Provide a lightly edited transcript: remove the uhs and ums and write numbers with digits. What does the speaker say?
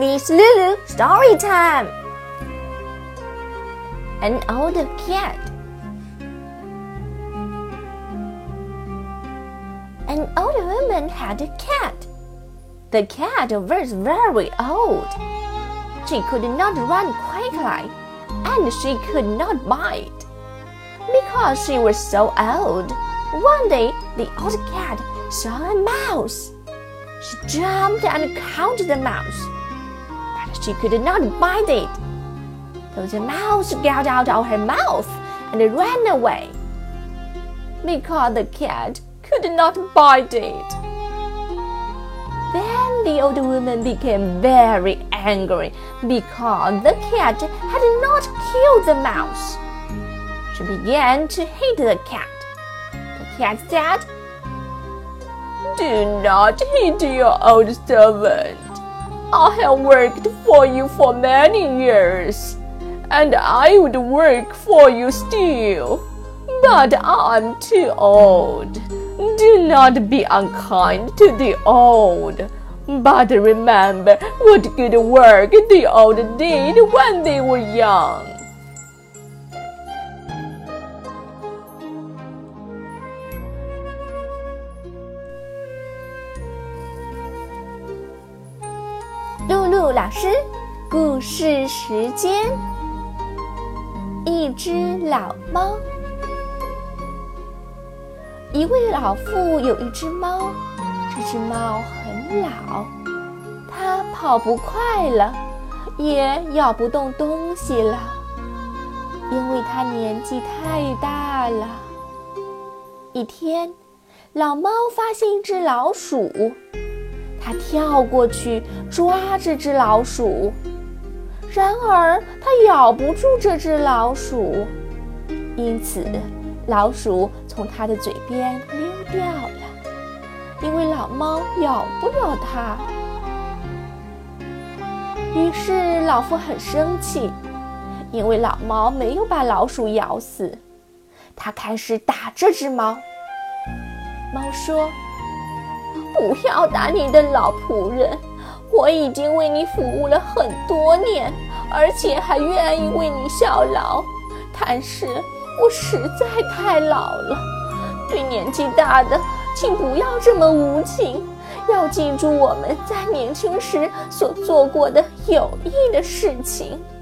Miss Lulu, story time! An old cat. An old woman had a cat. The cat was very old. She could not run quickly, and she could not bite. Because she was so old, one day the old cat saw a mouse. She jumped and caught the mouse, but she could not bite it. So the mouse got out of her mouth and ran away, because the cat could not bite it. Then the old woman became very angry because the cat had not killed the mouse. She began to hit the cat. The cat said, "Do not hit your old servant. I have worked for you for many years, and I would work for you still, but I'm too old. Do not be unkind to the old, but remember what good work the old did when they were young." 露露老师，故事时间。一只老猫。一位老妇有一只猫，这只猫很老，它跑不快了，也咬不动东西了，因为它年纪太大了。一天，老猫发现一只老鼠，它跳过去抓这只老鼠，然而它咬不住这只老鼠，因此老鼠从它的嘴边溜掉了，因为老猫咬不了它。于是老妇很生气，因为老猫没有把老鼠咬死，它开始打这只猫。猫说：“不要打你的老仆人，我已经为你服务了很多年，而且还愿意为你效劳，但是我实在太老了，对年纪大的请不要这么无情，要记住我们在年轻时所做过的有益的事情。”